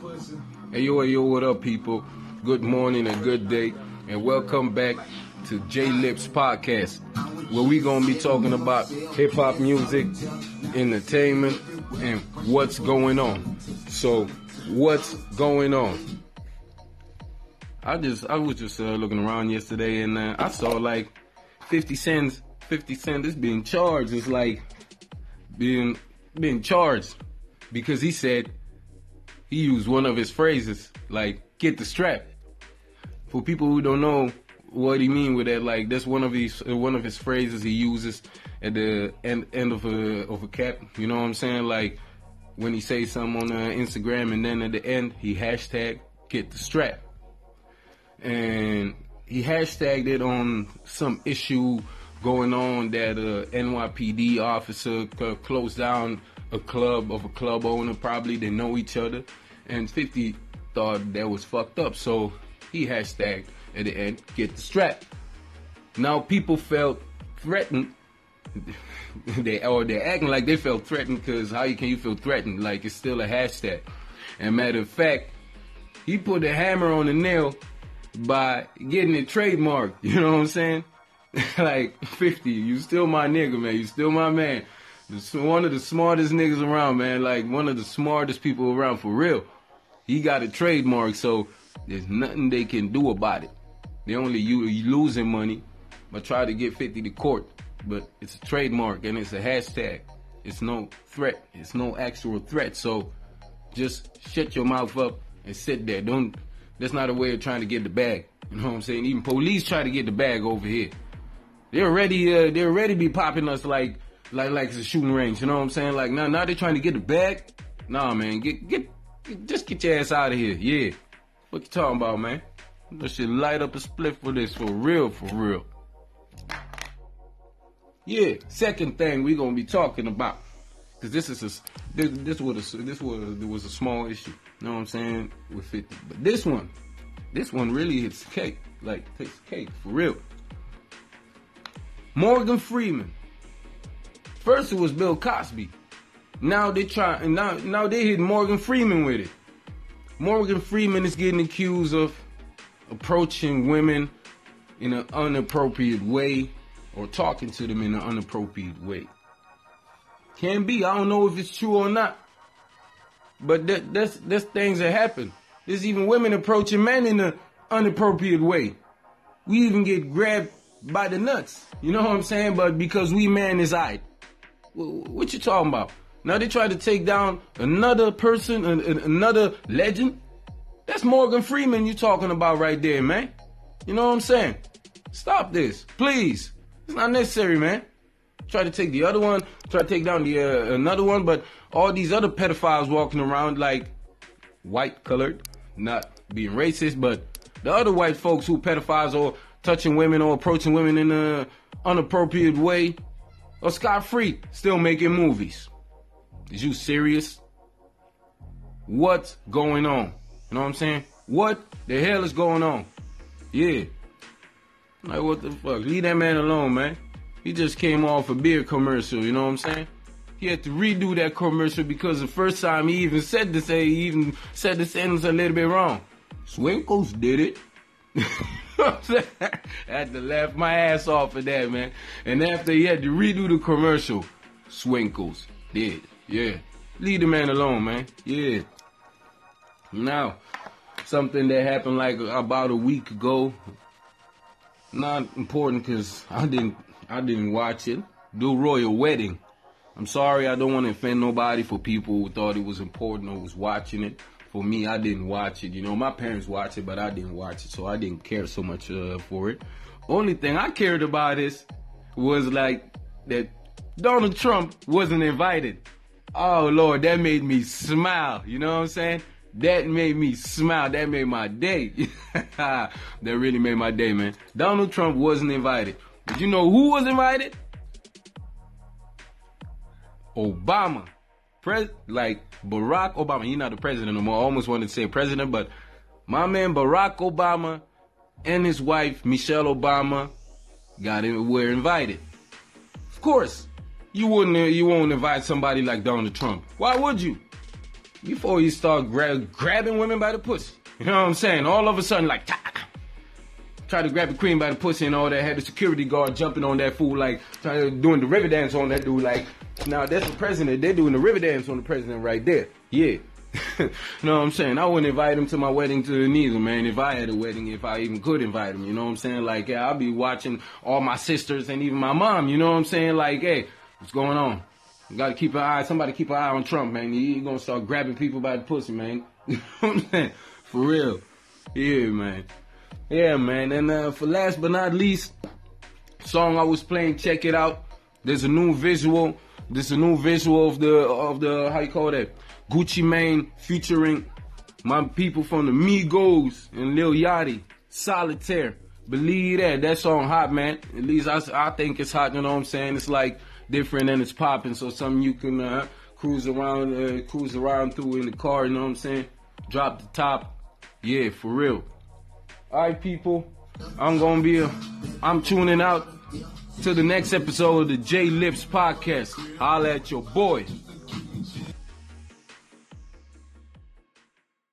Hey yo, what up, people? Good morning and good day, and welcome back to J Lips Podcast, where we gonna be talking about hip hop music, entertainment, and what's going on. So, what's going on? I was just looking around yesterday, and I saw like 50 Cent is being charged. It's like being charged because he said he used one of his phrases, like "get the strap." For people who don't know what he mean with that, like that's one of his phrases he uses at the end of a cap. You know what I'm saying? Like when he says something on Instagram, and then at the end he hashtag "get the strap," and he hashtagged it on some issue going on that NYPD officer closed down a club owner. Probably they know each other, and 50 thought that was fucked up, so he hashtagged at the end "get the strap." Now people felt threatened. They're acting like they felt threatened, because how can you feel threatened? Like it's still a hashtag. And matter of fact, he put a hammer on the nail by getting it trademarked. You know what I'm saying? Like 50, you still my nigga, man. You still my man. One of the smartest niggas around, man. Like one of the smartest people around, for real. He got a trademark, so there's nothing they can do about it. They only you losing money, but try to get 50 to court. But it's a trademark and it's a hashtag. It's no threat. It's no actual threat. So just shut your mouth up and sit there. That's not a way of trying to get the bag. You know what I'm saying? Even police try to get the bag over here. They already be popping us like it's a shooting range. You know what I'm saying? Like now they trying to get the bag. Nah, man, just get your ass out of here. Yeah, what you talking about, man? That shit light up a split for this, for real, for real. Yeah, second thing we gonna be talking about, cause this was a small issue. You know what I'm saying, with 50, but this one really hits the cake. Like takes the cake for real. Morgan Freeman. First it was Bill Cosby. Now they hit Morgan Freeman with it. Morgan Freeman is getting accused of approaching women in an inappropriate way, or talking to them in an inappropriate way. Can be. I don't know if it's true or not, but that's things that happen. There's even women approaching men in an inappropriate way. We even get grabbed by the nuts. You know what I'm saying? But because we man is aight. What you talking about? Now they try to take down another person, another legend. That's Morgan Freeman you talking about right there, man. You know what I'm saying? Stop this, please. It's not necessary, man. Try to take the other one, try to take down the another one, but all these other pedophiles walking around like white colored, not being racist, but the other white folks who pedophiles or touching women or approaching women in an inappropriate way are scot-free, still making movies. Is you serious? What's going on? You know what I'm saying? What the hell is going on? Yeah. Like, what the fuck? Leave that man alone, man. He just came off a beer commercial, you know what I'm saying? He had to redo that commercial because the first time he even said the sentence a little bit wrong. Swinkles did it. I had to laugh my ass off at that, man. And after he had to redo the commercial, Swinkles did. Yeah. Leave the man alone, man. Yeah. Now, something that happened like about a week ago. Not important because I didn't watch it. The royal wedding. I'm sorry, I don't want to offend nobody for people who thought it was important or was watching it. For me, I didn't watch it. You know, my parents watched it, but I didn't watch it, so I didn't care so much for it. Only thing I cared about was like that Donald Trump wasn't invited. Oh Lord, that made me smile. You know what I'm saying? That made me smile. That made my day. That really made my day, man. Donald Trump wasn't invited. But you know who was invited? Obama. Like Barack Obama. He's not the president no more. I almost wanted to say president, but my man Barack Obama and his wife Michelle Obama were invited. Of course, you won't invite somebody like Donald Trump. Why would you? before you start grabbing women by the pussy. You know what I'm saying? All of a sudden, like, try to grab the queen by the pussy and all that. Had the security guard jumping on that fool, like, doing the river dance on that dude. Like, now that's the president. They're doing the river dance on the president right there. Yeah. You know what I'm saying? I wouldn't invite him to my wedding to neither, man. If I had a wedding, if I even could invite him, you know what I'm saying? Like, yeah, I'll be watching all my sisters and even my mom, you know what I'm saying? Like, hey, what's going on? You gotta keep an eye, somebody keep an eye on Trump, man. He gonna start grabbing people by the pussy, man. You know what I'm saying? For real. Yeah, man. Yeah, man. And for last but not least, song I was playing, check it out. There's a new visual. There's a new visual of the how you call that? Gucci Mane featuring my people from the Migos and Lil Yachty, Solitaire. Believe that. That song hot, man. At least I think it's hot, you know what I'm saying? It's like different and it's popping, so something you can cruise around through in the car, you know what I'm saying? Drop the top. Yeah, for real. Alright, people. I'm tuning out to the next episode of the J Lips Podcast. Holla at your boy.